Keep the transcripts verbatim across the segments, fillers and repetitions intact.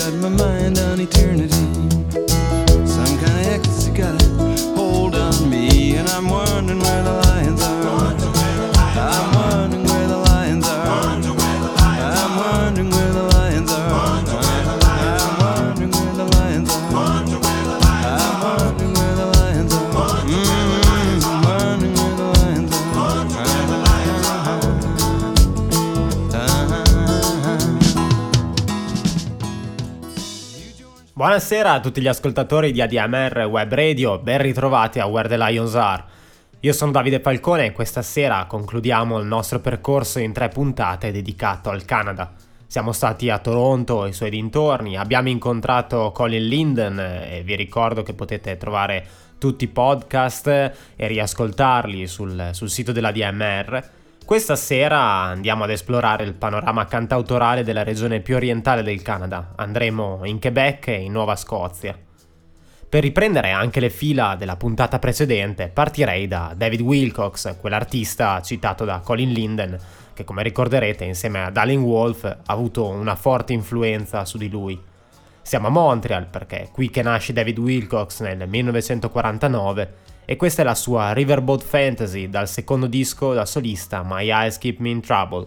got my mind on eternity. Some kind of ecstasy got a hold on me, and I'm wondering where the lions are. I'm wondering where the lions are. I'm wondering where the lions are. I'm wondering where the lions are. I'm wondering where the lions are. Mm, I'm wondering where the lions are. Buonasera a tutti gli ascoltatori di A D M R Web Radio, ben ritrovati a Where the Lions Are. Io sono Davide Falcone e questa sera concludiamo il nostro percorso in tre puntate dedicato al Canada. Siamo stati a Toronto e i suoi dintorni, abbiamo incontrato Colin Linden e vi ricordo che potete trovare tutti i podcast e riascoltarli sul, sul sito della A D M R. Questa sera andiamo ad esplorare il panorama cantautorale della regione più orientale del Canada. Andremo in Quebec e in Nuova Scozia. Per riprendere anche le fila della puntata precedente, partirei da David Wilcox, quell'artista citato da Colin Linden, che come ricorderete insieme ad Alan Wolf ha avuto una forte influenza su di lui. Siamo a Montreal perché è qui che nasce David Wilcox nel millenovecentoquarantanove e questa è la sua Riverboat Fantasy dal secondo disco da solista My Eyes Keep Me in Trouble.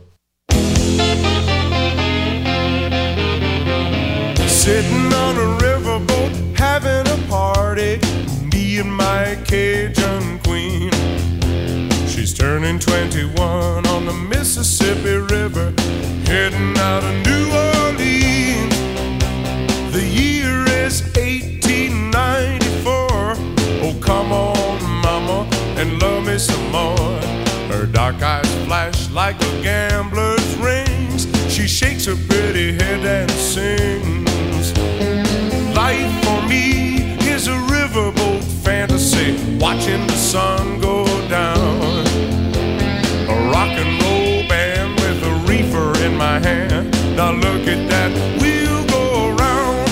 Sitting on a riverboat, having a party, me and my Cajun queen. She's turning twenty-one on the Mississippi River, heading out of New Orleans. The year is eighteen ninety-four. Oh, come on, mama, and love me some more. Her dark eyes flash like a gambler's rings. She shakes her pretty head and sings. Life for me is a riverboat fantasy, watching the sun go down. A rock and roll band with a reefer in my hand. Now look at that wheel go around.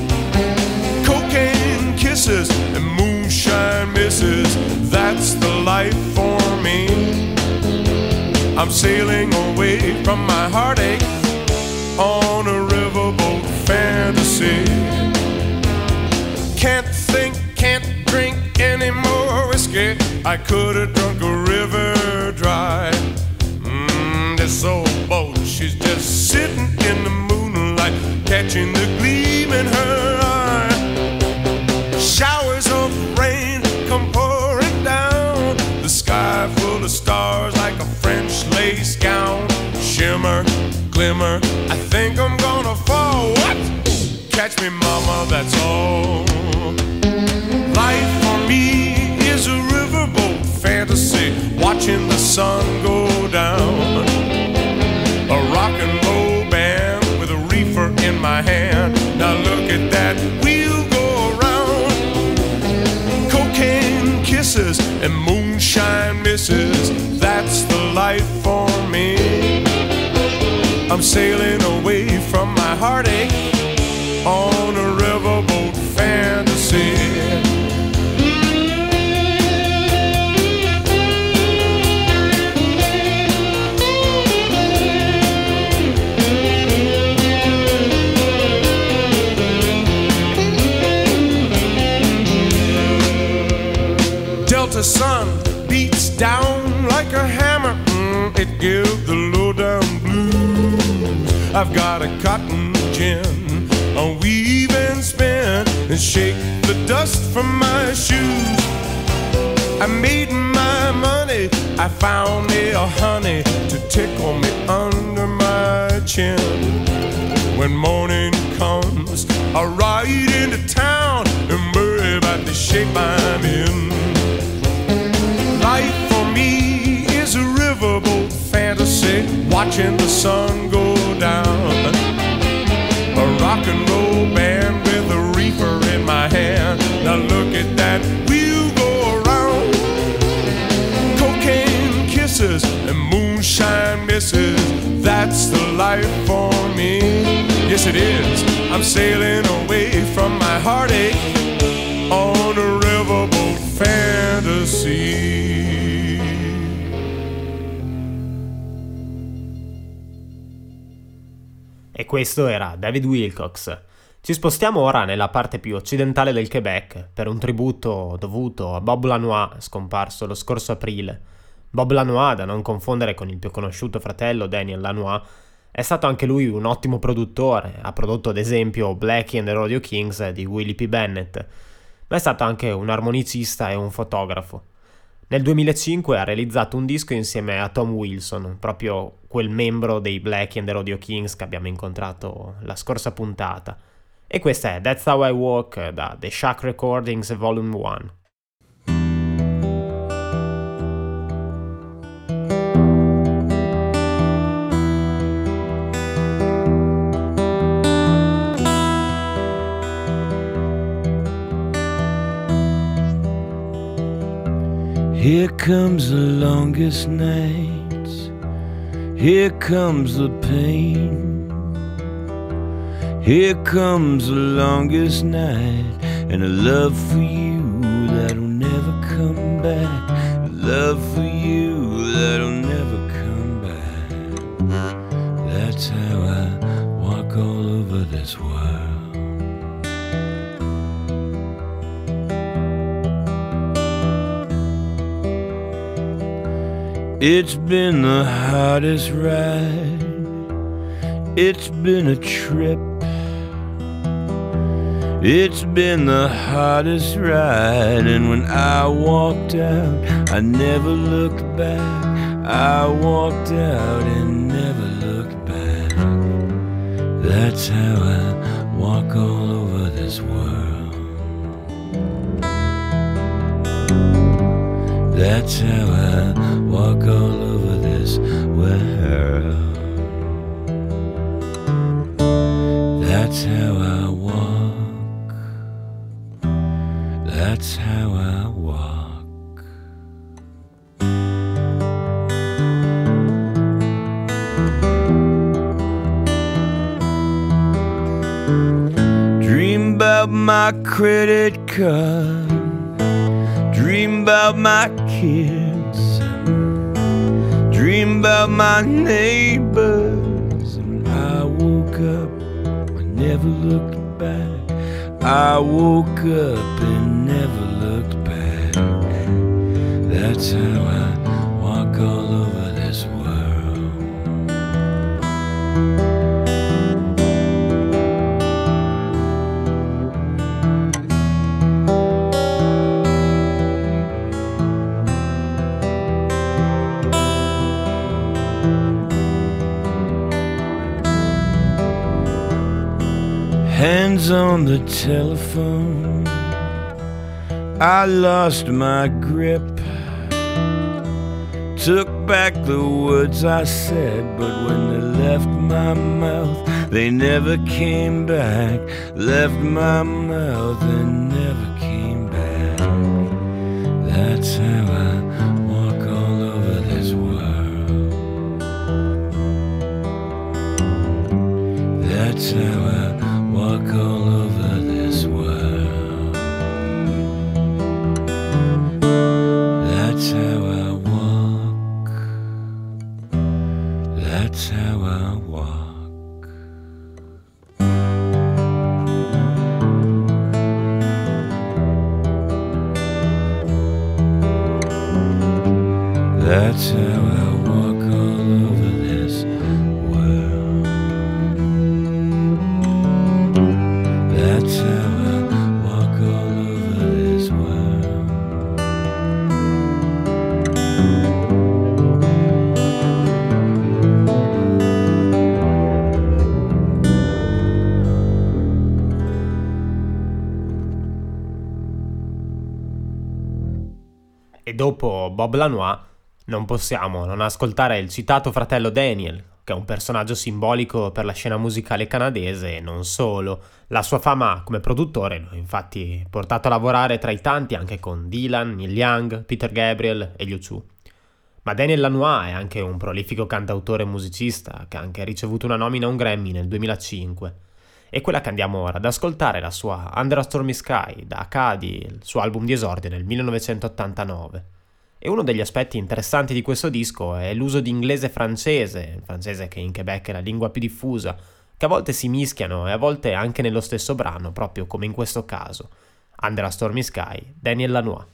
Cocaine kisses and moonshine misses, that's the life for me. I'm sailing away from my heartache on a riverboat fantasy. Can't think, can't drink any more whiskey. I could have drunk a river dry. Mmm, this old boat, she's just sitting in the moonlight, catching the gleam in her eye. Showers of rain come pouring down, the sky full of stars like a French lace gown. Shimmer, glimmer, I think I'm gonna fall. What? Catch me, mama, that's all. Life for me is a riverboat fantasy, watching the sun go down. A rock and roll band with a reefer in my hand. Now look at that wheel go around. Cocaine kisses and moonshine misses, that's the life for me. I'm sailing away from my heartache on a riverboat fantasy. Delta sun beats down like a hammer, mm, it gives the low-down blues. I've got a cotton gin, I'll weave and spin and shake the dust from my shoes. I made my money, I found me a honey to tickle me under my chin. When morning comes, I'll ride into town and worry about the shape I'm in. Life for me is a riverboat fantasy, watching the sun go down. A rock and roll band with a reefer in my hand. Now look at that wheel go around. Cocaine kisses and moonshine misses, that's the life for me. Yes it is, I'm sailing away from my heartache on a riverboat fantasy. E questo era David Wilcox. Ci spostiamo ora nella parte più occidentale del Quebec per un tributo dovuto a Bob Lanois, scomparso lo scorso aprile. Bob Lanois, da non confondere con il più conosciuto fratello Daniel Lanois, è stato anche lui un ottimo produttore, ha prodotto ad esempio Blackie and the Rodeo Kings di Willie P. Bennett, ma è stato anche un armonicista e un fotografo. Nel duemilacinque ha realizzato un disco insieme a Tom Wilson, proprio quel membro dei Blackie and the Rodeo Kings che abbiamo incontrato la scorsa puntata. E questa è That's How I Walk da The Shack Recordings Volume uno. Here comes the longest nights, here comes the pain. Here comes the longest night, and a love for you that'll never come back. A love for you that'll never come back. That's how I walk all over this world. It's been the hardest ride, it's been a trip. It's been the hardest ride, and when I walked out, I never looked back. I walked out and never looked back. That's how I walk all over this world. That's how I walk all over this world. That's how I walk. That's how I walk. Dream about my credit card, dream about my kids, dream about my neighbors. And I woke up, I never looked back. I woke up and never looked back. That's how I walk all over this world. Hands on the telephone, I lost my grip. Took back the words I said, but when they left my mouth, they never came back. Left my mouth and never came back. That's how I walk all over this world. That's how I walk all over this world. That's how I walk. That's how I walk. That's how I walk all over this world. That's how I walk all over this world. E dopo Bob Lanois non possiamo non ascoltare il citato fratello Daniel, che è un personaggio simbolico per la scena musicale canadese e non solo. La sua fama come produttore lo ha infatti portato a lavorare tra i tanti anche con Dylan, Neil Young, Peter Gabriel e U due. Ma Daniel Lanois è anche un prolifico cantautore e musicista che ha anche ricevuto una nomina a un Grammy nel duemilacinque. E quella che andiamo ora ad ascoltare è la sua Under a Stormy Sky da Acadie, il suo album di esordio nel millenovecentottantanove. E uno degli aspetti interessanti di questo disco è l'uso di inglese e francese, il francese che in Quebec è la lingua più diffusa, che a volte si mischiano e a volte anche nello stesso brano, proprio come in questo caso. Under a Stormy Sky, Daniel Lanois.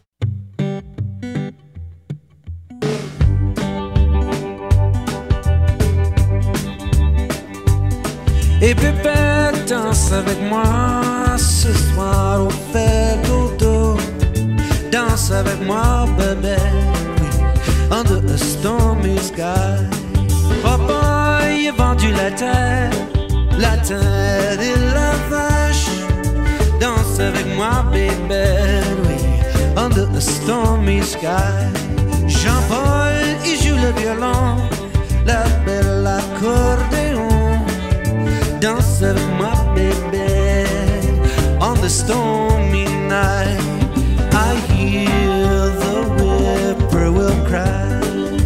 Et bébé, danse avec moi ce soir au fait dodo. Danse avec moi, bébé, under a stormy sky. Papa, il a vendu la terre, la terre et la vache. Danse avec moi, bébé, oui, under a stormy sky. Jean-Paul, il joue le violon, la belle accordéon. Danse avec moi, baby, on the stormy night. I hear the whippoorwill cry.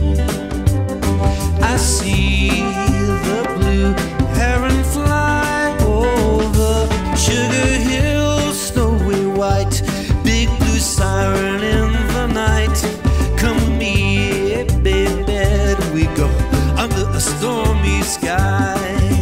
I see the blue heron fly over Sugar Hill, snowy white, big blue siren in the night. Come with me, baby, we go under a stormy sky.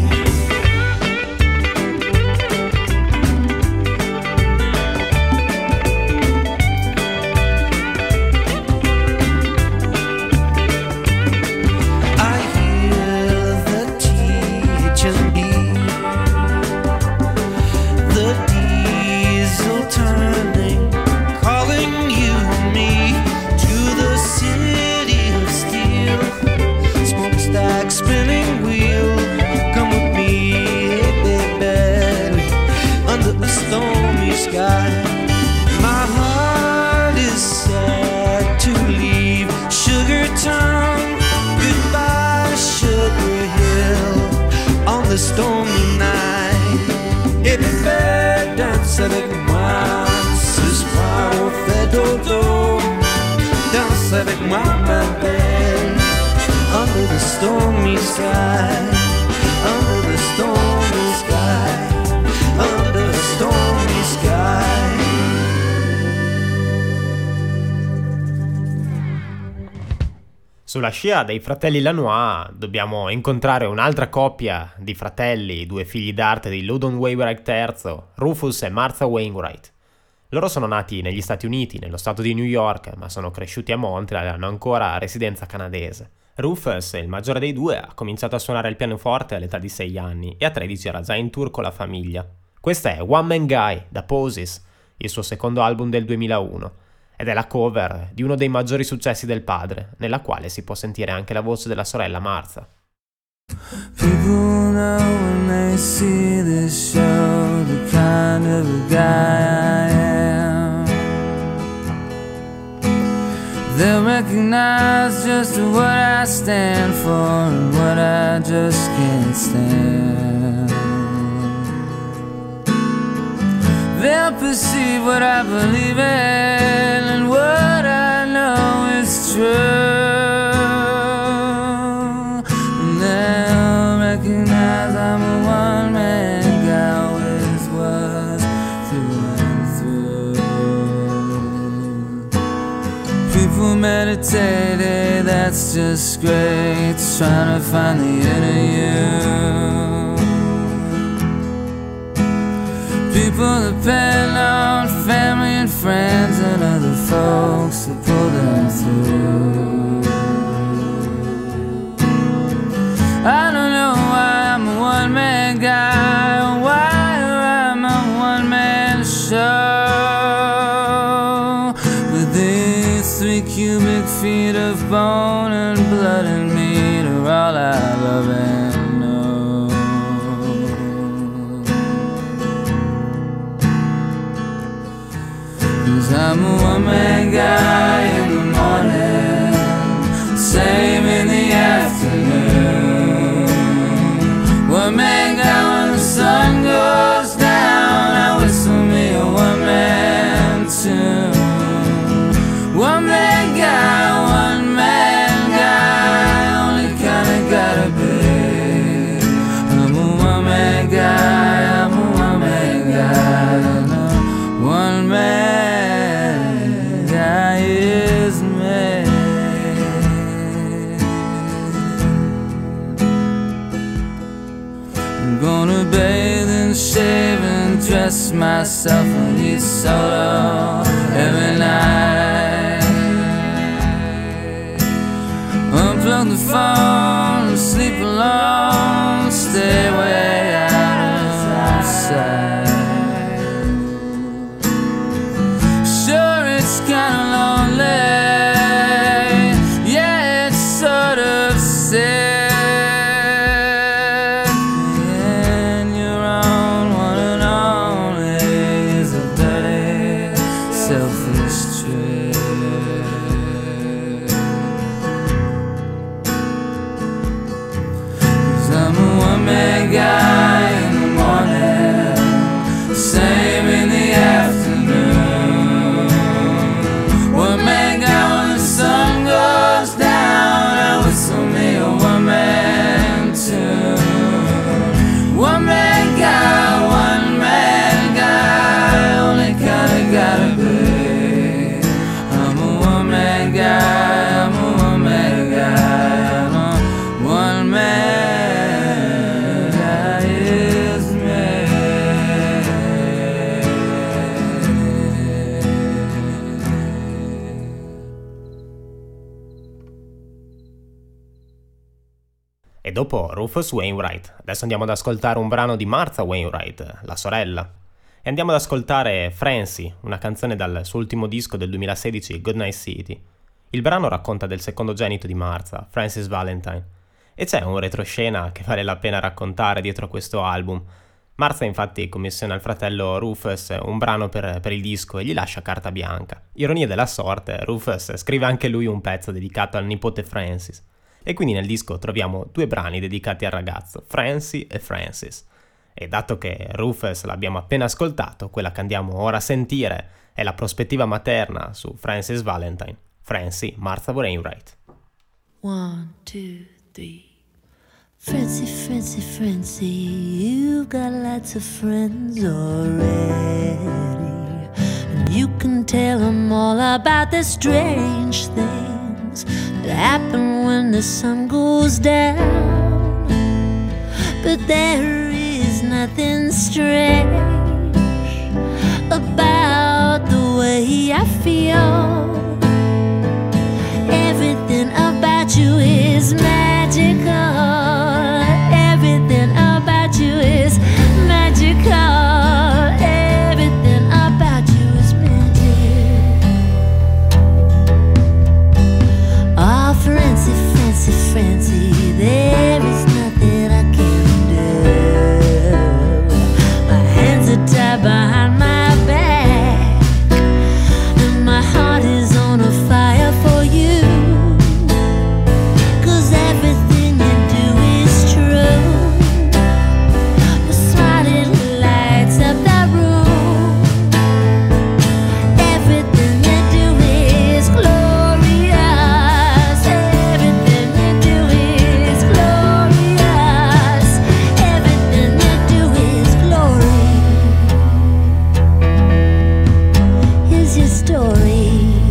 My heart is sad to leave Sugar Town. Goodbye, Sugar Hill, on the stormy night. Et bébé, danse avec moi ce soir au fait dodo. Danse avec moi, ma belle, under the stormy sky. Under the stormy sky. Under the stormy sky. Sulla scia dei fratelli Lanois dobbiamo incontrare un'altra coppia di fratelli, due figli d'arte di Loudon Wainwright terzo, Rufus e Martha Wainwright. Loro sono nati negli Stati Uniti, nello stato di New York, ma sono cresciuti a Montreal e hanno ancora residenza canadese. Rufus, il maggiore dei due, ha cominciato a suonare il pianoforte all'età di sei anni e a tredici era già in tour con la famiglia. Questa è One Man Guy, da Poses, il suo secondo album del duemilauno, ed è la cover di uno dei maggiori successi del padre, nella quale si può sentire anche la voce della sorella Martha. People know when they see this show the kind of a guy I am. They'll recognize just what I stand for and what I just can't stand. They'll perceive what I believe in and what I know is true. And they'll recognize I'm a one-man guy, always was through and through. People meditate, that's just great, trying to find the inner you. People depend on family and friends and other folks to pull them through. I don't know why I'm a one-man guy, or why I'm a one-man show. But these three cubic feet of bone and blood and meat are all I love and know. 'Cause I'm a one-man guy in the morning, same in the afternoon. One-man guy when the sun goes down, I whistle me a one-man tune. One-man guy, one-man guy, only kinda gotta be. I'm a one-man guy, I'm a one-man guy, no, one-man guy. undress myself and eat solo every night. Unplug the phone, sleep alone, stay way out of sight. Sure, it's kinda lonely. Yeah, it's sort of sad. Guy in the morning, same in the afternoon. One man guy when the sun goes down, I whistle me a one man tune. One man guy, one man guy, only kinda gotta be. I'm a one man guy, I'm a one man guy, I'm a one man. E dopo Rufus Wainwright, adesso andiamo ad ascoltare un brano di Martha Wainwright, la sorella. E andiamo ad ascoltare Francie, una canzone dal suo ultimo disco del duemilasedici, Goodnight City. Il brano racconta del secondogenito di Martha, Francis Valentine. E c'è un retroscena che vale la pena raccontare dietro questo album. Martha infatti commissiona al fratello Rufus un brano per, per il disco e gli lascia carta bianca. Ironia della sorte, Rufus scrive anche lui un pezzo dedicato al nipote Francis. E quindi nel disco troviamo due brani dedicati al ragazzo, Francie e Francis. E dato che Rufus l'abbiamo appena ascoltato, quella che andiamo ora a sentire è la prospettiva materna su Francis Valentine. Francie, Martha Wainwright. One, two, three. Francie, Francie, Francie, you've got lots of friends already. And you can tell them all about the strange things that happen when the sun goes down. But there is nothing strange about the way I feel. Everything about you is magical. Everything about you is magical. Everything about you is magic. Oh, Francie, Francie, Francie, there is nothing I can do. My hands are tied behind my back, and my heart is on a fire for you. 'Cause everything you do is true. Your smile lights up the room. Everything you do is glorious. Everything you do is glorious. Everything you do is glory. Here's your story.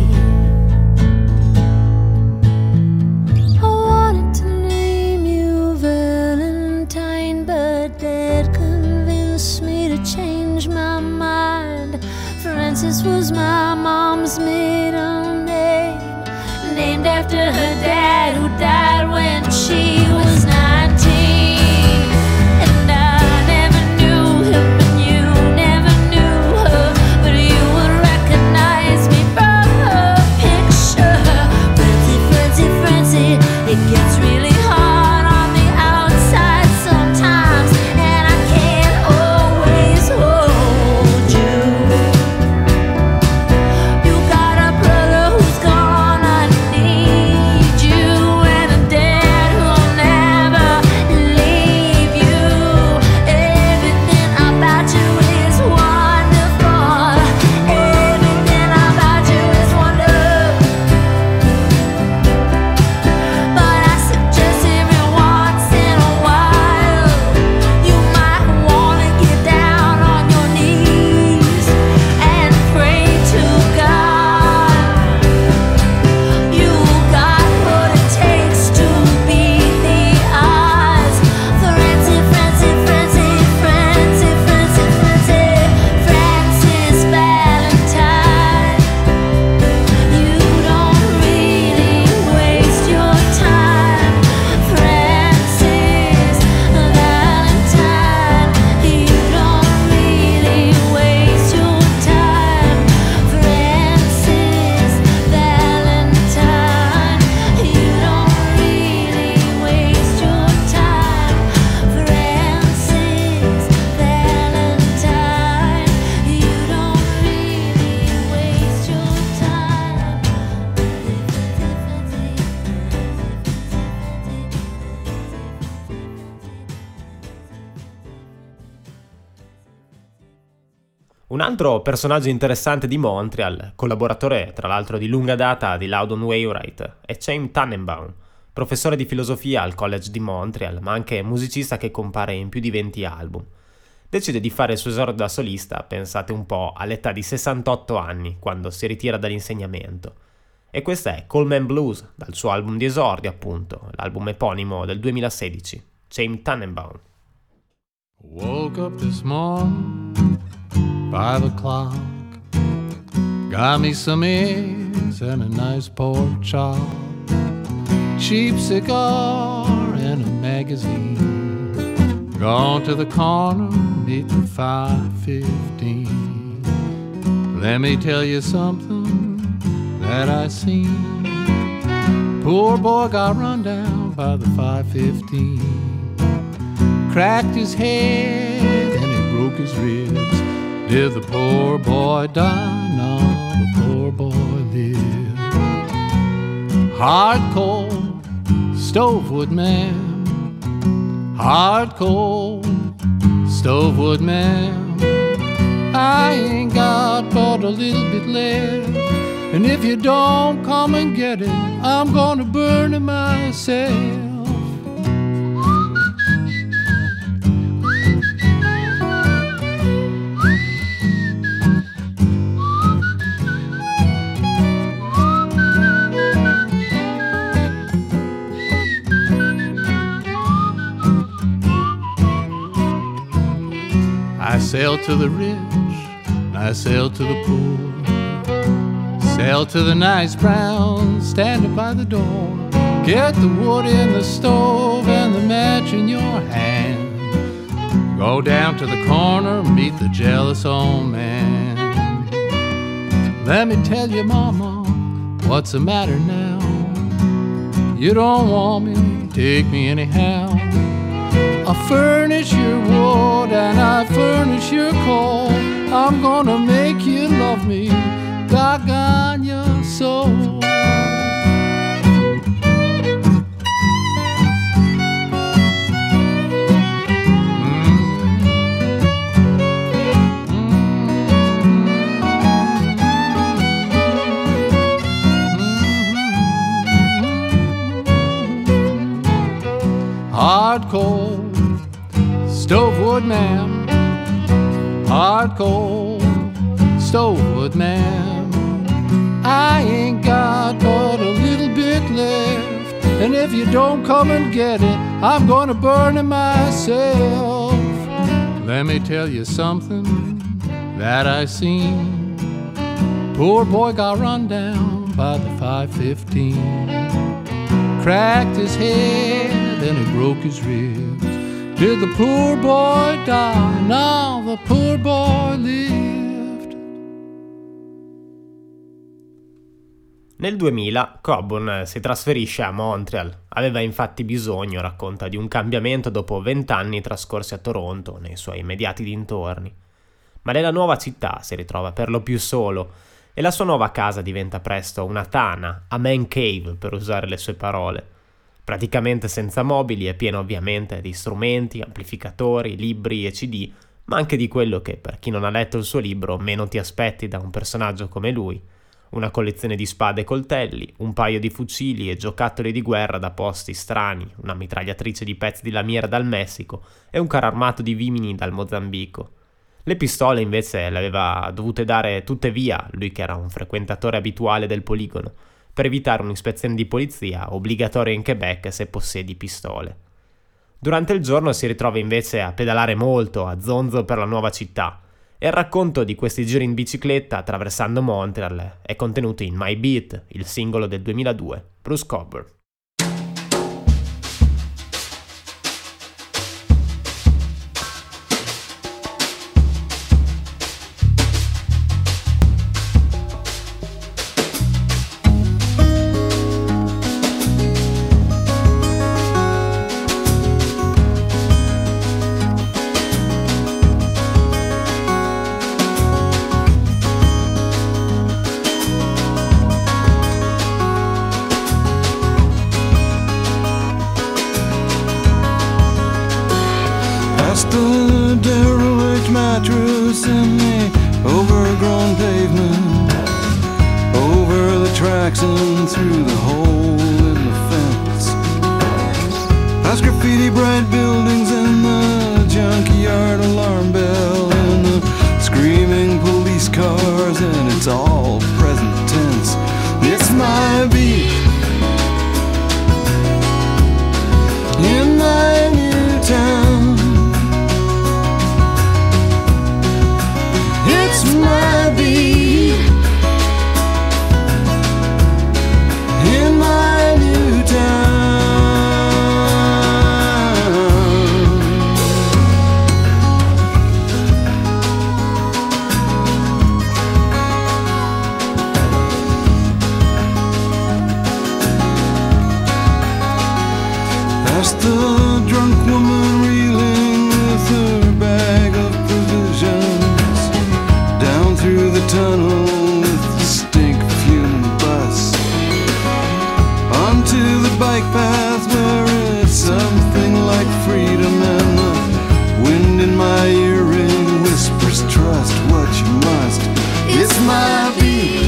I wanted to name you Valentine, but Dad convinced me to change my mind. Francis was my mom's maiden name, named after her dad who died when she was nineteen. And I never knew him and you never knew her, but you would recognize me from her picture. Francie, Francie, Francie, it gets really hard on the outside sometimes, and I can't always hold you. You got a brother who's gonna need you, and a dad who'll never Un altro personaggio interessante di Montreal, collaboratore tra l'altro di lunga data di Loudon Wainwright, è Chaim Tannenbaum, professore di filosofia al College di Montreal, ma anche musicista che compare in più di venti album. Decide di fare il suo esordio da solista, pensate un po', all'età di sessantotto anni, quando si ritira dall'insegnamento. E questa è Coleman Blues, dal suo album di esordio appunto, l'album eponimo del duemilasedici, Chaim Tannenbaum. Woke up this morning, five o'clock, got me some eggs and a nice pork chop, cheap cigar and a magazine, gone to the corner, meet the five fifteen. Let me tell you something that I seen. Poor boy got run down by the five fifteen, cracked his head and he broke his ribs. Did the poor boy die? No, the poor boy lived. Hard cold, stovewood man, hard cold, stovewood man. I ain't got but a little bit left, and if you don't come and get it, I'm gonna burn it myself. I sell to the rich, I sell to the poor, sell to the nice brown standing by the door. Get the wood in the stove and the match in your hand. Go down to the corner, meet the jealous old man. Let me tell you, mama, what's the matter now? You don't want me, take me anyhow. I furnish your wood and I furnish your coal. I'm gonna make you love me, doggone your soul. Hard cold, stovewood man, hard cold, stovewood man. I ain't got but a little bit left, and if you don't come and get it, I'm gonna burn it myself. Let me tell you something that I seen. Poor boy got run down by the five fifteen, cracked his head and he broke his ribs. Did the poor boy die? No, the poor boy lived. Nel duemila Coburn si trasferisce a Montreal. Aveva infatti bisogno, racconta, di un cambiamento dopo vent'anni trascorsi a Toronto, nei suoi immediati dintorni. Ma nella nuova città si ritrova per lo più solo e la sua nuova casa diventa presto una tana, a man cave per usare le sue parole. Praticamente senza mobili e pieno ovviamente di strumenti, amplificatori, libri e C D, ma anche di quello che, per chi non ha letto il suo libro, meno ti aspetti da un personaggio come lui. Una collezione di spade e coltelli, un paio di fucili e giocattoli di guerra da posti strani, una mitragliatrice di pezzi di lamiera dal Messico e un carro armato di vimini dal Mozambico. Le pistole invece le aveva dovute dare tutte via, lui che era un frequentatore abituale del poligono, per evitare un'ispezione di polizia obbligatoria in Quebec se possiedi pistole. Durante il giorno si ritrova invece a pedalare molto, a zonzo per la nuova città, e il racconto di questi giri in bicicletta attraversando Montreal è contenuto in My Beat, il singolo del duemiladue, Bruce Coburn. Jackson through the hole in the fence. Past graffiti bright buildings and the junkyard alarm bell and the screaming police cars, and it's all present tense. It's my beat in my new town. It's my beat in my new town. Past the drunk woman reeling with her bag of provisions, down through the tunnel with the stink fume bus, onto the bike path where it's something like freedom, and the wind in my earring whispers, trust what you must. It's my beat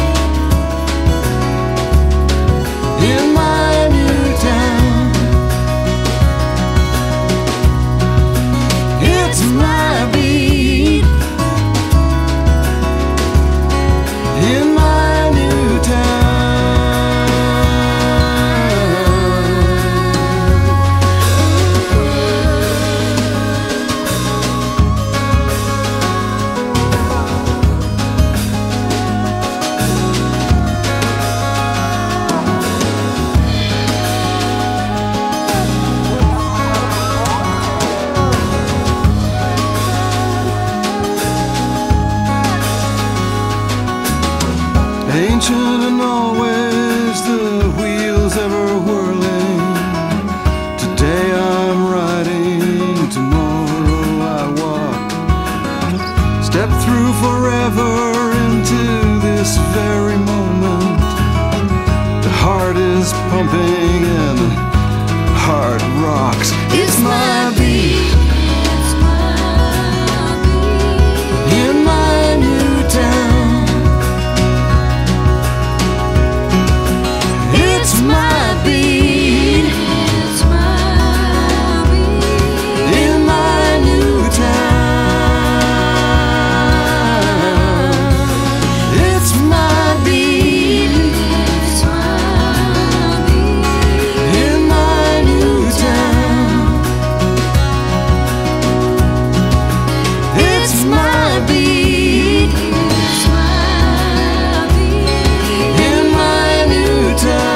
in my new town. It's my beat in my new town. Ancient and always the wheels ever whirling. Today I'm riding, tomorrow I walk. Step through forever into this very moment. The heart is pumping and the heart rocks. It's my beat in my new town. It's my beat, it's my beat in my new town. It's my beat, it's my beat in my new town. It's my beat, it's my beat in my new town.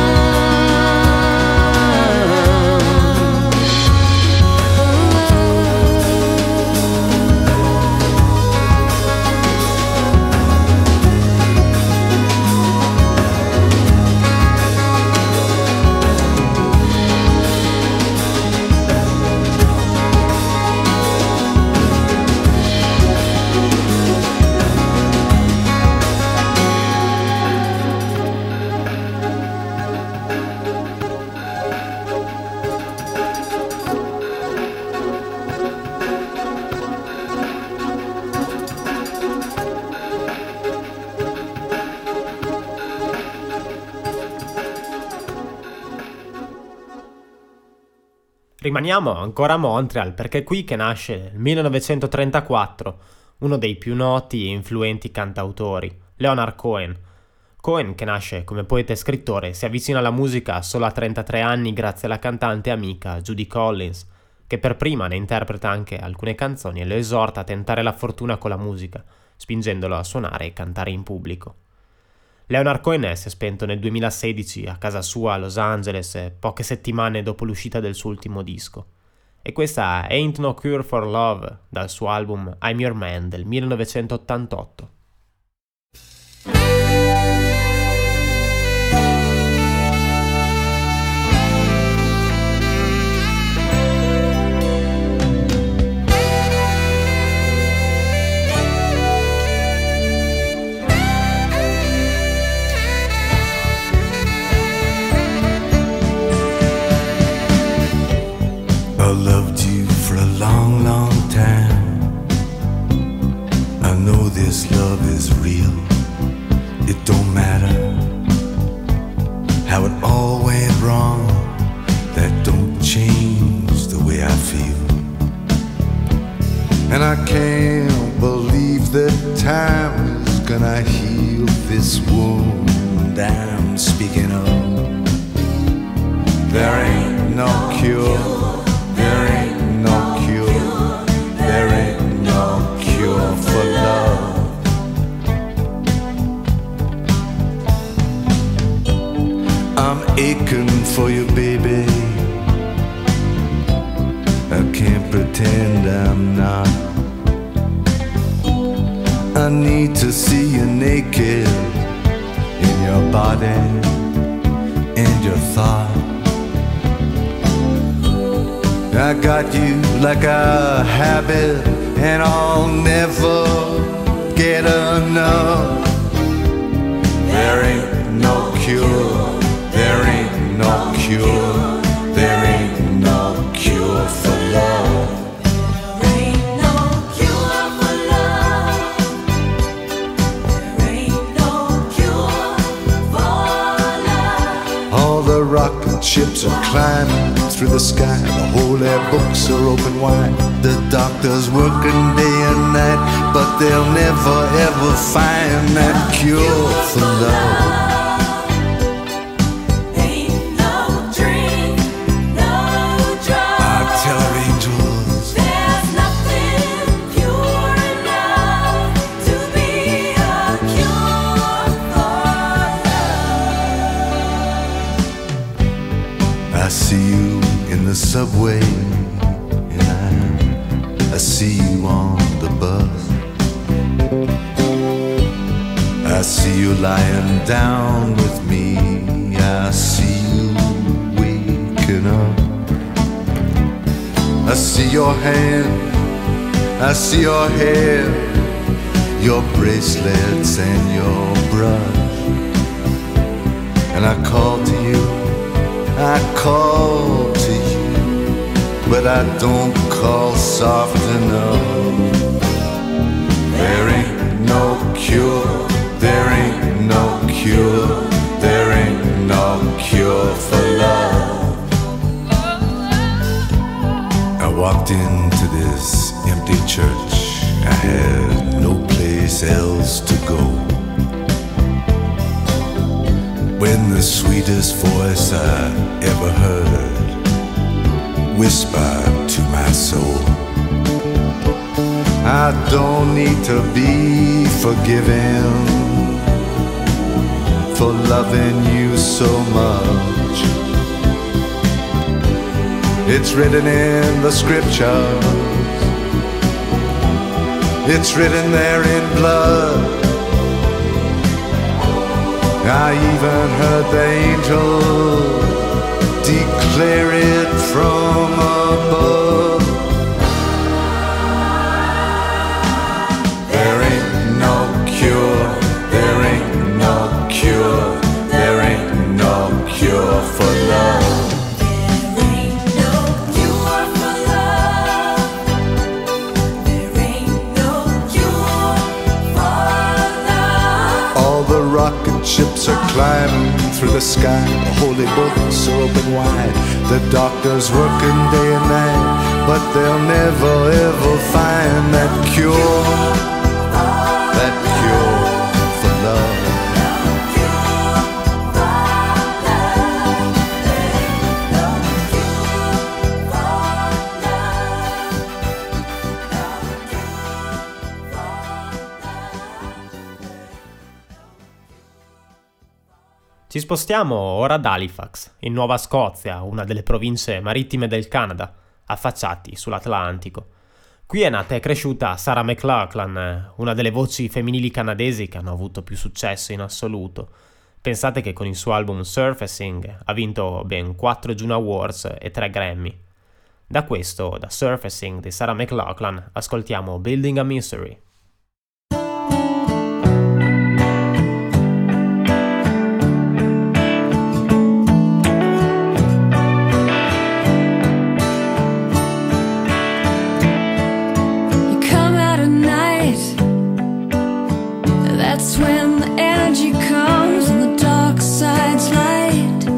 Rimaniamo ancora a Montreal perché è qui che nasce nel millenovecentotrentaquattro uno dei più noti e influenti cantautori, Leonard Cohen. Cohen, che nasce come poeta e scrittore, si avvicina alla musica solo a trentatré anni grazie alla cantante amica Judy Collins, che per prima ne interpreta anche alcune canzoni e lo esorta a tentare la fortuna con la musica, spingendolo a suonare e cantare in pubblico. Leonard Cohen si è spento nel duemilasedici a casa sua a Los Angeles, poche settimane dopo l'uscita del suo ultimo disco. E questa è Ain't No Cure for Love, dal suo album I'm Your Man del millenovecentottantotto. I loved you for a long, long time. I know this love is real. It don't matter how it all went wrong. That don't change the way I feel. And I can't believe that time is gonna heal this wound I'm speaking of. There ain't no cure, there ain't no cure, there ain't no cure for love. I'm aching for you, baby. I can't pretend I'm not. I need to see you naked in your body and your thought. I got you like a habit, and I'll never get enough. There ain't no cure, there ain't no cure, there ain't no cure for love. There ain't no cure for love. There ain't no cure for love. All the rocket ships are climbing through the sky. The holy books are open wide. The doctors working day and night, but they'll never ever find that cure for love. I see you in the subway, and I, I see you on the bus. I see you lying down with me. I see you waking up. I see your hand, I see your hair, your bracelets and your brush. And I call to you, I call to you, but I don't call soft enough. There ain't no cure, there ain't no cure, there ain't no cure for love. I walked into this empty church, I had no place else to go, when the sweetest voice I ever heard whispered to my soul, I don't need to be forgiven for loving you so much. It's written in the scriptures, it's written there in blood. I even heard the angel declare it from above. There ain't no cure, there ain't no cure, there ain't no cure for love. Ships are climbing through the sky. The holy books are open wide. The doctors working day and night, but they'll never ever find that cure, that cure for love. Ci spostiamo ora ad Halifax, in Nuova Scozia, una delle province marittime del Canada, affacciati sull'Atlantico. Qui è nata e cresciuta Sarah McLachlan, una delle voci femminili canadesi che hanno avuto più successo in assoluto. Pensate che con il suo album Surfacing ha vinto ben quattro Juno Awards e tre Grammy. Da questo, da Surfacing di Sarah McLachlan, ascoltiamo Building a Mystery. That's when the energy comes and the dark side's light.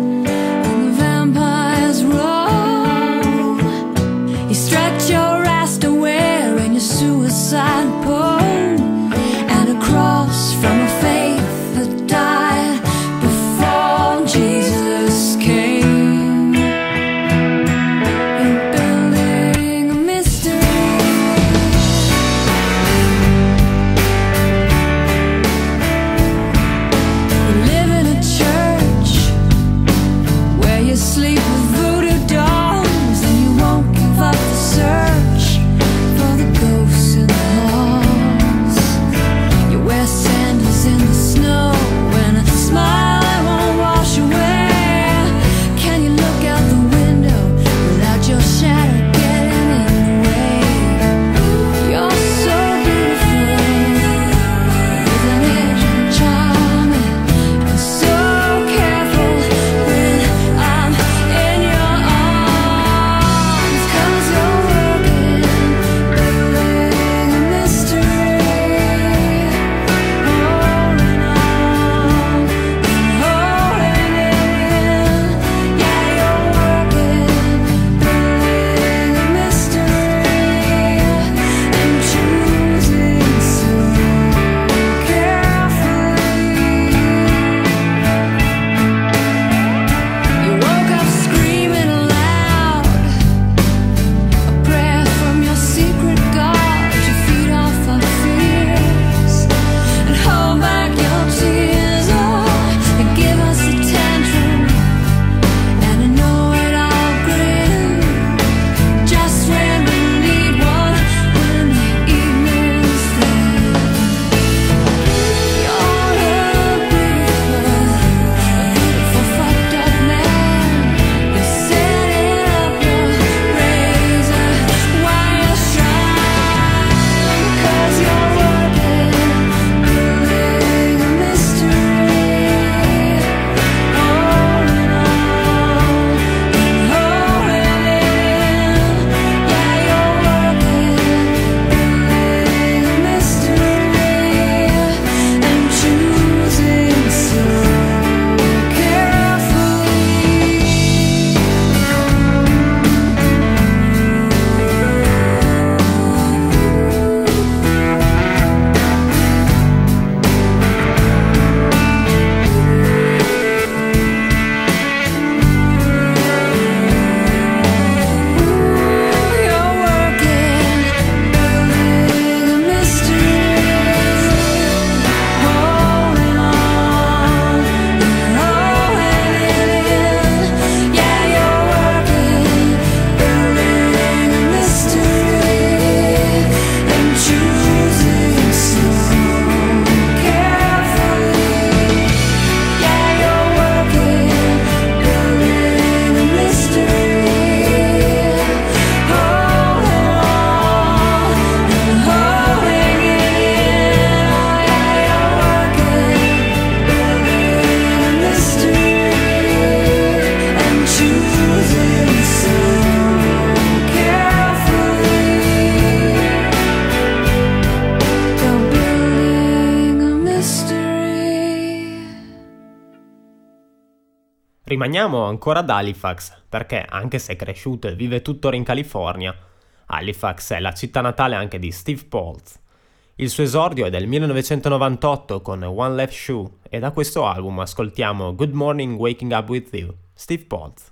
Rimaniamo ancora ad Halifax, perché anche se è cresciuto e vive tuttora in California, Halifax è la città natale anche di Steve Poltz. Il suo esordio è del millenovecentonovantotto con One Left Shoe e da questo album ascoltiamo Good Morning Waking Up With You, Steve Poltz.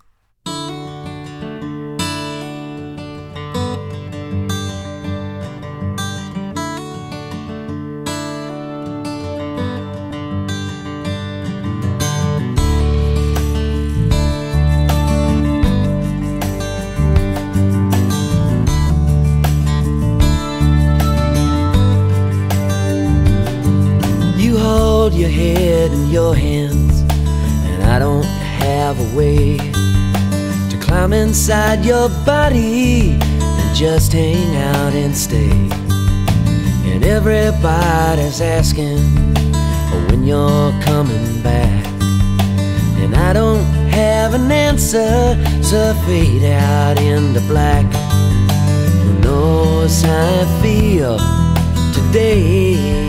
Your head in your hands, and I don't have a way to climb inside your body and just hang out and stay. And everybody's asking when you're coming back, and I don't have an answer, so fade out into black. Who knows how I feel today?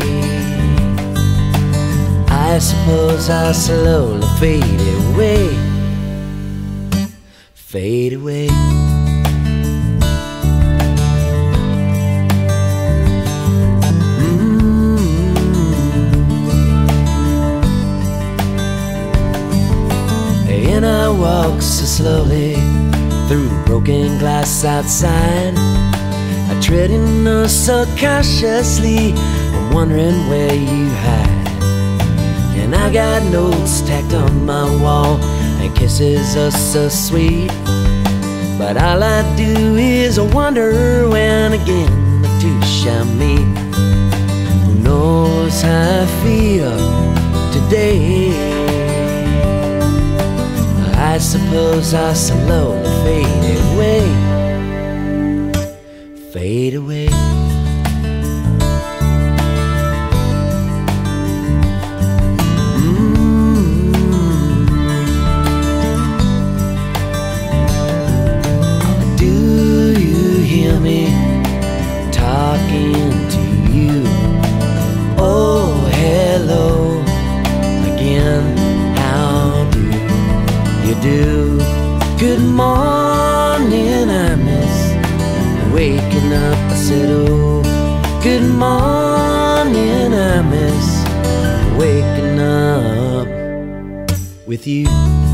I suppose I'll slowly fade away, fade away. Mm-hmm. And I walk so slowly through broken glass outside, I tread in oh so cautiously, I'm wondering where you hide. And I got notes tacked on my wall and kisses are so sweet, but all I do is wonder when again the two shall meet. Who knows how I feel today? I suppose I'll slowly fade away, fade away. Good morning, I miss waking up. I said, oh, good morning, I miss waking up with you.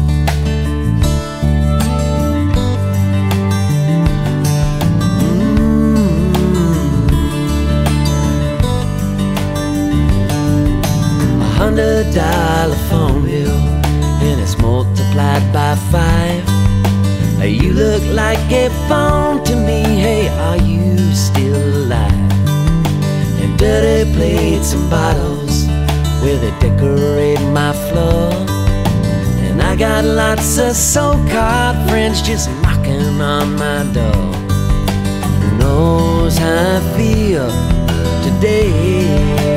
Mm-hmm. A hundred dollar phone bill, and it's multiplied by five. You look like a phone to me, hey, are you still alive? And dirty plates and bottles where they decorate my floor, and I got lots of so-called friends just knocking on my door. Who knows how I feel today?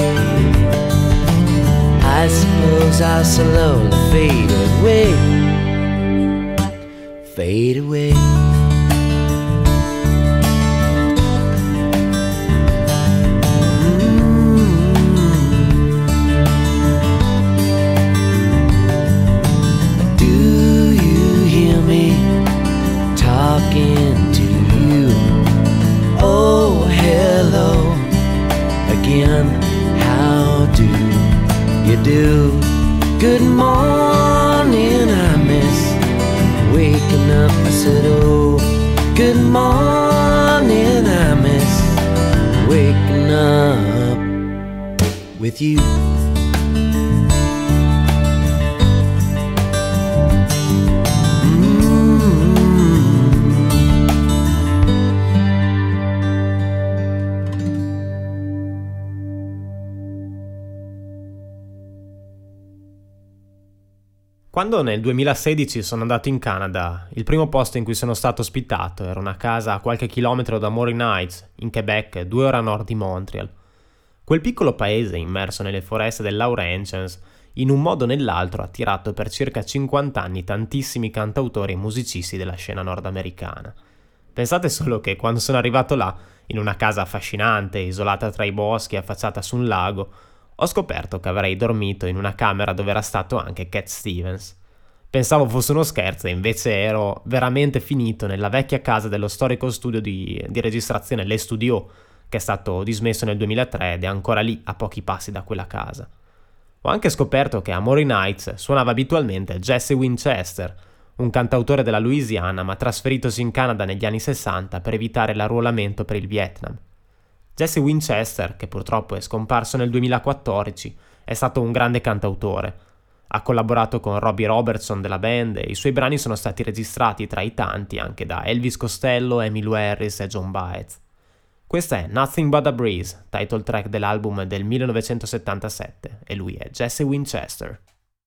I suppose I'll slowly fade away, fade away. Mm-hmm. Do you hear me talking to you? Oh, hello again. How do you do? Good morning, I miss waking up. I said, oh, good morning, I miss waking up with you. Quando nel duemilasedici sono andato in Canada, il primo posto in cui sono stato ospitato era una casa a qualche chilometro da Morin Heights, in Quebec, due ore a nord di Montreal. Quel piccolo paese immerso nelle foreste del Laurentians, in un modo o nell'altro ha attirato per circa cinquanta anni tantissimi cantautori e musicisti della scena nordamericana. Pensate solo che quando sono arrivato là, in una casa affascinante, isolata tra i boschi e affacciata su un lago, ho scoperto che avrei dormito in una camera dove era stato anche Cat Stevens. Pensavo fosse uno scherzo e invece ero veramente finito nella vecchia casa dello storico studio di, di registrazione Le Studio, che è stato dismesso nel duemilatré ed è ancora lì a pochi passi da quella casa. Ho anche scoperto che a Maury Nights suonava abitualmente Jesse Winchester, un cantautore della Louisiana ma trasferitosi in Canada negli anni sessanta per evitare l'arruolamento per il Vietnam. Jesse Winchester, che purtroppo è scomparso nel duemilaquattordici, è stato un grande cantautore. Ha collaborato con Robbie Robertson della band e i suoi brani sono stati registrati tra i tanti anche da Elvis Costello, Emmylou Harris e John Baez. Questa è Nothing But a Breeze, title track dell'album del millenovecentosettantasette, e lui è Jesse Winchester.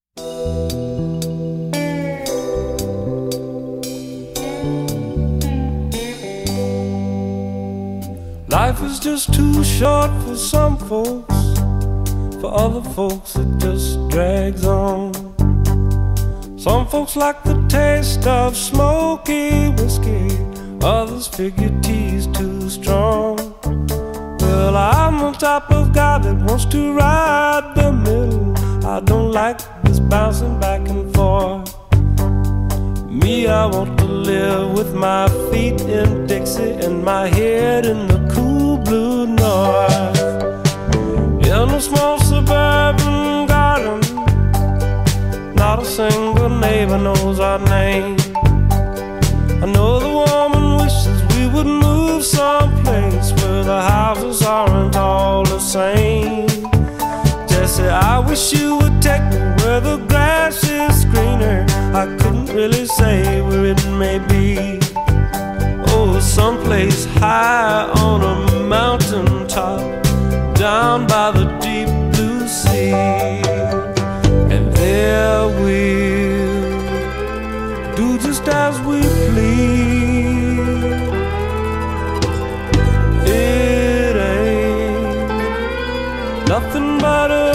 Life is just too short for some folks. For other folks it just drags on. Some folks like the taste of smoky whiskey, others figure tea's too strong. Well, I'm on top of God that wants to ride the middle. I don't like this bouncing back and forth. Me, I want to live with my feet in Dixie and my head in the cool blue north. In a small suburban garden, not a single neighbor knows our name. I know the woman wishes we would move someplace where the houses aren't all the same. Jesse, I wish you would take me where the grass is greener. I couldn't really say where it may be. Oh, someplace high on a mountain top, down by the deep blue sea. And there we'll do just as we please. It ain't nothing but a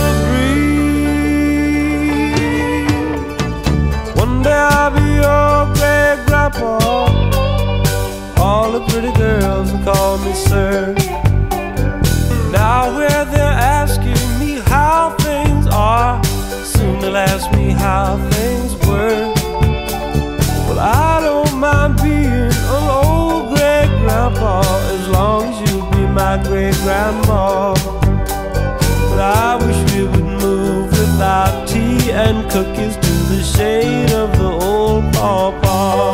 breeze. One day I'll be your great grandpa. All the pretty girls will call me sir. Now where they're asking me how things are, soon they'll ask me how things were. Well, I don't mind being an old great grandpa as long as you be my great grandma. But I wish we would move without tea and cookies to the shade of the old pawpaw.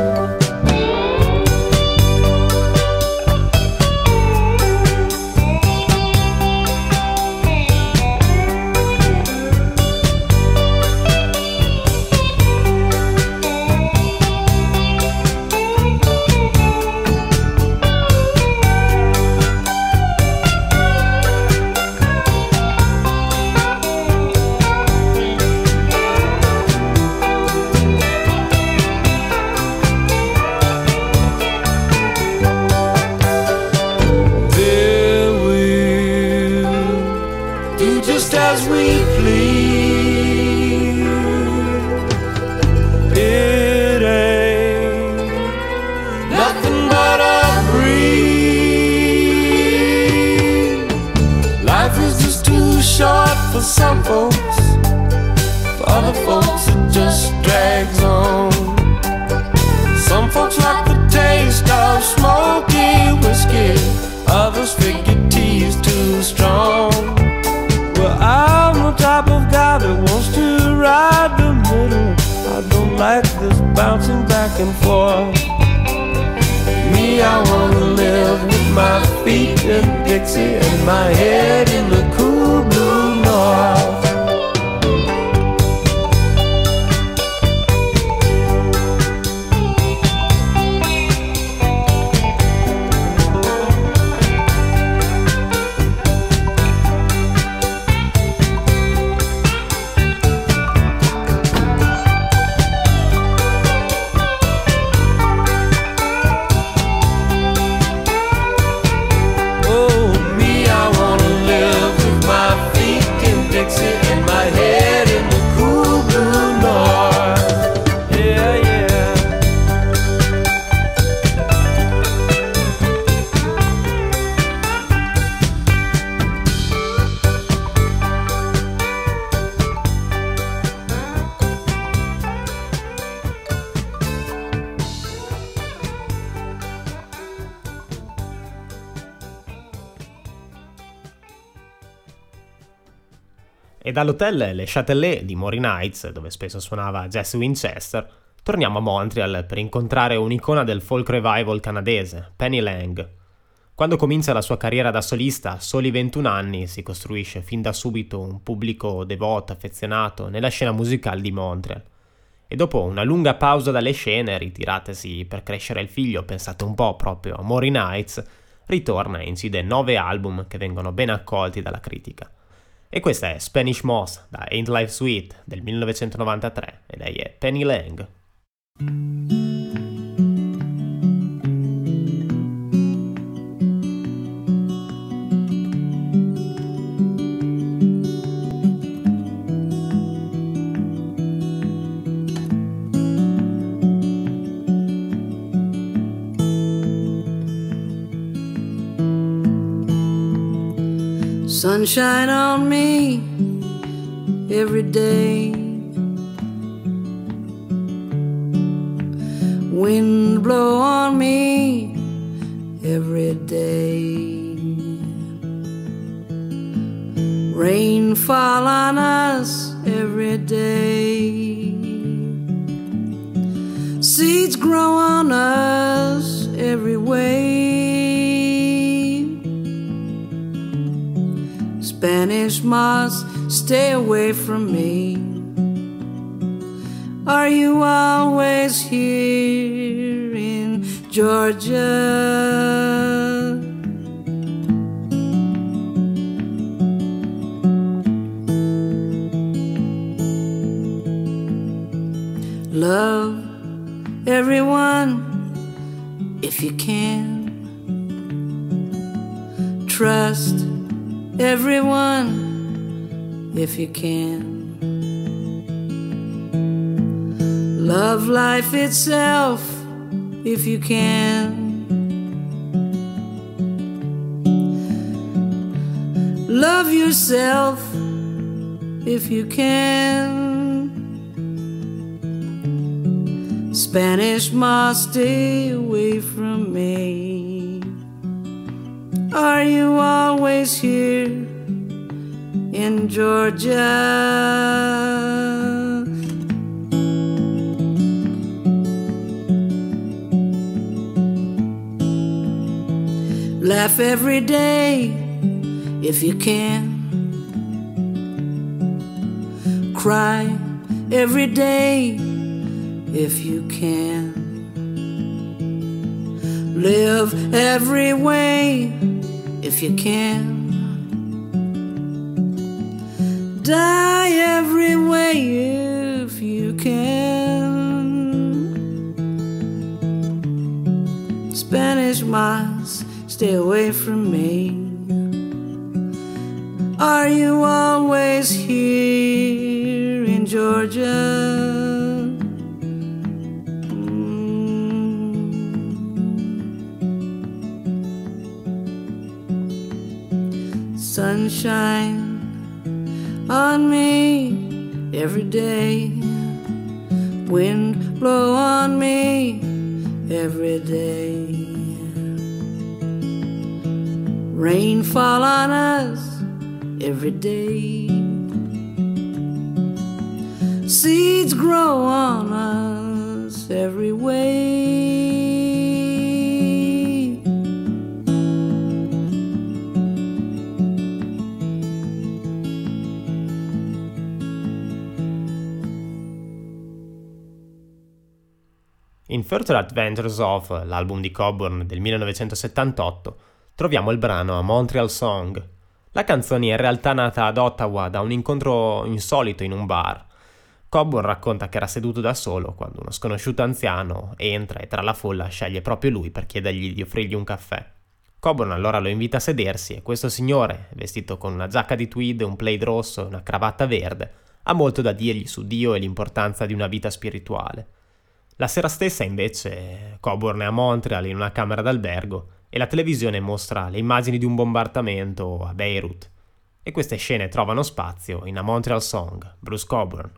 As we please. It ain't nothing but a breeze. Life is just too short for some folks. For other folks it just drags on. Some folks like the taste of smoky whiskey, others figure tea's too strong. Well, I'm the type of guy that wants to ride the middle. I don't like this bouncing back and forth. Me, I wanna live with my feet in Dixie and my head in the cool blue north. Live E dall'hotel Le Châtelet di Morin Heights, dove spesso suonava Jesse Winchester, torniamo a Montreal per incontrare un'icona del folk revival canadese, Penny Lang. Quando comincia la sua carriera da solista, a soli ventuno anni, si costruisce fin da subito un pubblico devoto, affezionato nella scena musicale di Montreal. E dopo una lunga pausa dalle scene, ritiratesi per crescere il figlio, pensate un po' proprio a Morin Heights, ritorna e incide nove album che vengono ben accolti dalla critica. E questa è Spanish Moss da Ain't Life Sweet del millenovecentonovantatré e lei è Penny Lang. Sunshine on me every day, wind blow on me every day, rain fall on us every day, seeds grow on us every way. Spanish moss, stay away from me. Are you always here in Georgia? Love everyone if you can. Trust everyone if you can. Love life itself if you can. Love yourself if you can. Spanish moss, stay away from me. Are you always here in Georgia? Laugh every day if you can. Cry every day if you can. Live every way if you can. Die every way if you can. Spanish moss, stay away from me. Are you always here in Georgia? Sunshine on me every day, wind blow on me every day, rain fall on us every day, seeds grow on us every way. In Further Adventures of, l'album di Coburn del millenovecentosettantotto, troviamo il brano A Montreal Song. La canzone è in realtà nata ad Ottawa da un incontro insolito in un bar. Coburn racconta che era seduto da solo quando uno sconosciuto anziano entra e tra la folla sceglie proprio lui per chiedergli di offrirgli un caffè. Coburn allora lo invita a sedersi e questo signore, vestito con una giacca di tweed, un plaid rosso e una cravatta verde, ha molto da dirgli su Dio e l'importanza di una vita spirituale. La sera stessa, invece, Coburn è a Montreal in una camera d'albergo e la televisione mostra le immagini di un bombardamento a Beirut. E queste scene trovano spazio in A Montreal Song, Bruce Coburn.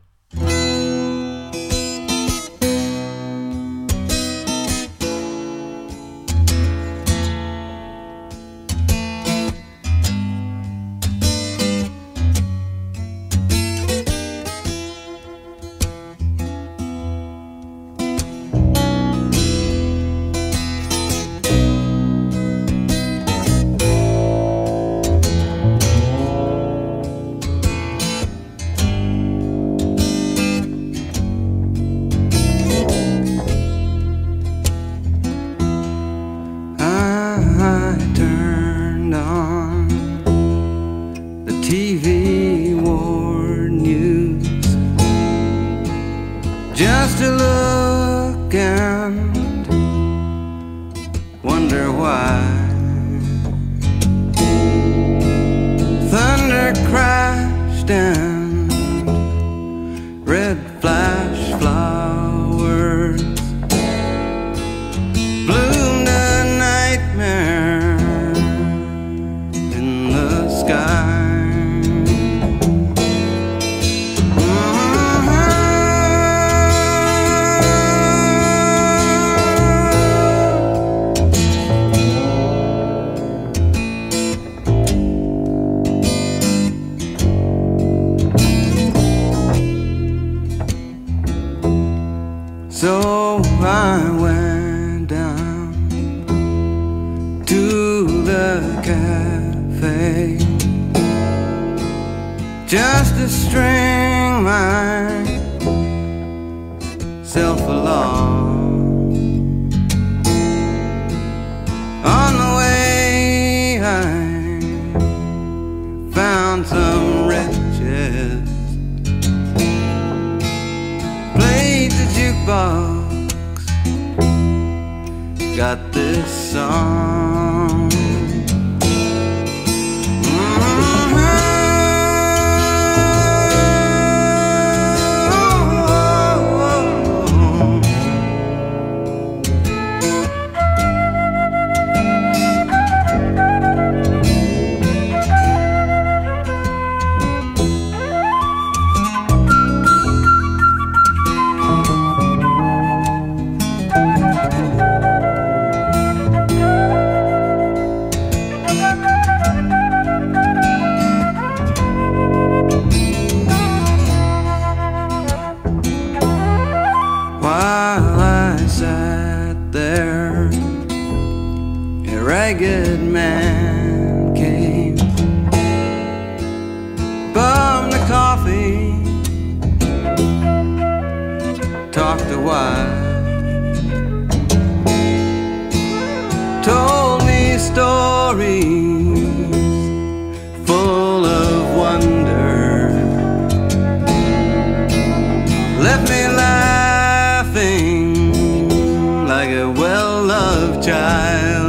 T V war news just to look and wonder why. Thunder crashed and red flash flowers bloomed a nightmare in the sky. So I went down to the cafe just to string myself along. On the way I found some wretches, played the jukebox, got this song. While I sat there, a ragged man came, bummed the coffee, talked a while, told me stories full of wonder, left me laughing like a well-loved child.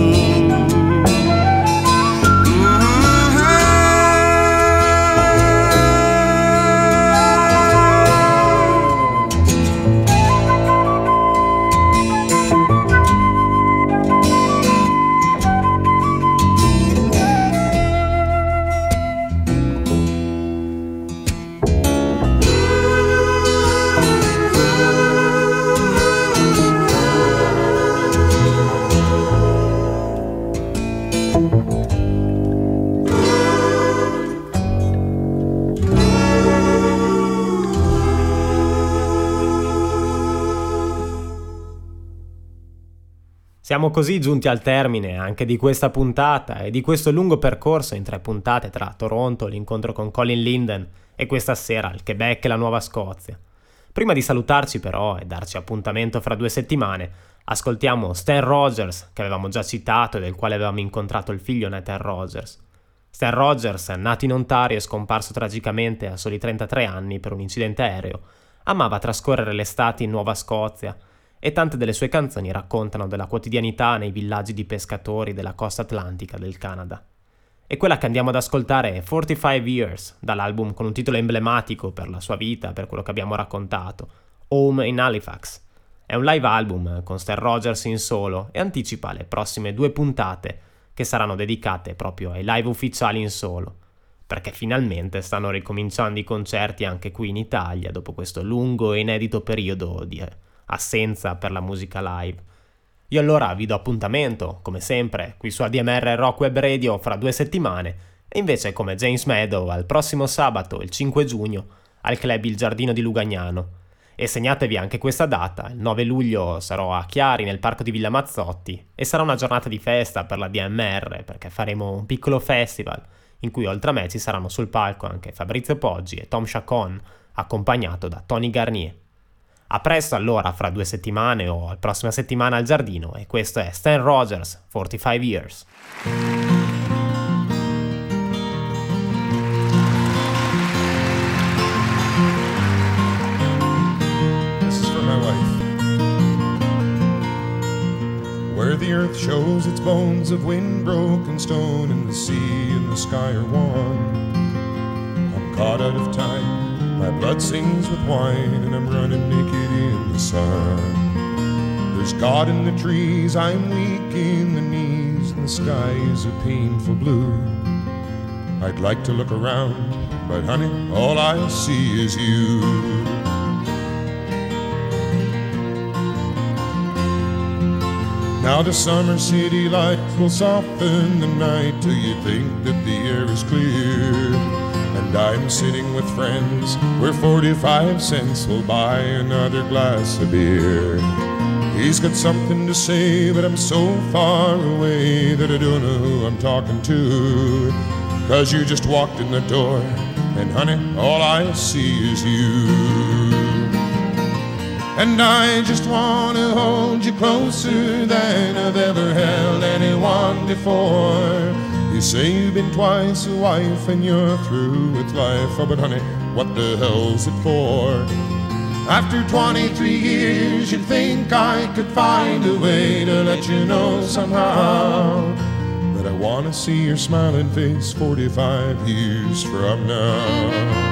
Siamo così giunti al termine anche di questa puntata e di questo lungo percorso in tre puntate tra Toronto, l'incontro con Colin Linden e questa sera il Quebec e la Nuova Scozia. Prima di salutarci però e darci appuntamento fra due settimane, ascoltiamo Stan Rogers, che avevamo già citato e del quale avevamo incontrato il figlio Nathan Rogers. Stan Rogers, nato in Ontario e scomparso tragicamente a soli trentatré anni per un incidente aereo, amava trascorrere l'estate in Nuova Scozia e tante delle sue canzoni raccontano della quotidianità nei villaggi di pescatori della costa atlantica del Canada. E quella che andiamo ad ascoltare è forty-five years, dall'album con un titolo emblematico per la sua vita, per quello che abbiamo raccontato, Home in Halifax. È un live album con Stan Rogers in solo e anticipa le prossime due puntate che saranno dedicate proprio ai live ufficiali in solo, perché finalmente stanno ricominciando i concerti anche qui in Italia dopo questo lungo e inedito periodo di assenza per la musica live. Io allora vi do appuntamento, come sempre, qui su A D M R Rock Web Radio fra due settimane e invece come James Meadow al prossimo sabato, il cinque giugno, al club Il Giardino di Lugagnano. E segnatevi anche questa data, il nove luglio sarò a Chiari nel parco di Villa Mazzotti e sarà una giornata di festa per la D M R perché faremo un piccolo festival in cui oltre a me ci saranno sul palco anche Fabrizio Poggi e Tom Chacon, accompagnato da Tony Garnier. A presto allora fra due settimane o la prossima settimana al giardino e questo è Stan Rogers, forty-five years. its bones of wind-broken stone, and the sea and the sky are one. I'm caught out of time, my blood sings with wine, and I'm running naked in the sun. There's God in the trees, I'm weak in the knees, and the sky is a painful blue. I'd like to look around, but honey, all I see is you. Now the summer city lights will soften the night till you think that the air is clear. And I'm sitting with friends where forty-five cents will buy another glass of beer. He's got something to say, but I'm so far away that I don't know who I'm talking to. Cause you just walked in the door, and honey, all I see is you. And I just wanna hold you closer than I've ever held anyone before. You say you've been twice a wife and you're through with life. Oh, but honey, what the hell's it for? After twenty-three years, you'd think I could find a way to let you know somehow that I wanna see your smiling face forty-five years from now.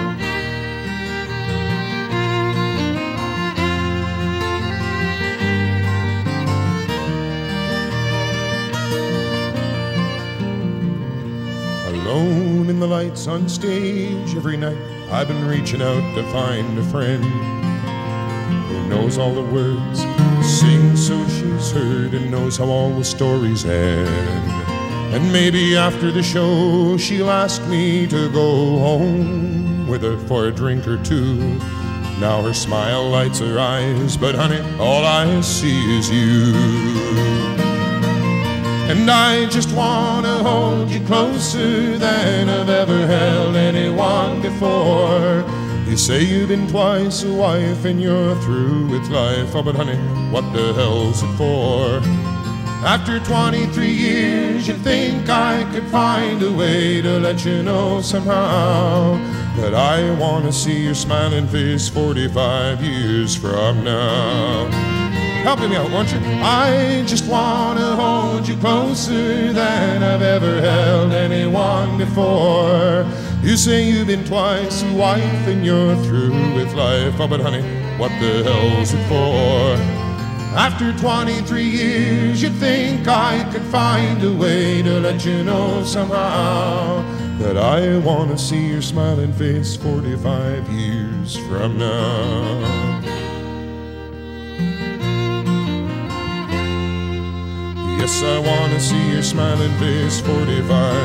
Alone in the lights on stage every night, I've been reaching out to find a friend who knows all the words, sings so she's heard, and knows how all the stories end. And maybe after the show she'll ask me to go home with her for a drink or two. Now her smile lights her eyes, but honey, all I see is you. And I just wanna hold you closer than I've ever held anyone before. You say you've been twice a wife and you're through with life. Oh, but honey, what the hell's it for? After twenty-three years, you'd think I could find a way to let you know somehow that I wanna see your smiling face forty-five years from now. Help me out, won't you? I just wanna hold you closer than I've ever held anyone before. You say you've been twice a wife and you're through with life. Oh, but honey, what the hell's it for? After twenty-three years, you'd think I could find a way to let you know somehow that I wanna see your smiling face forty-five years from now. Yes, I wanna see your smiling face forty-five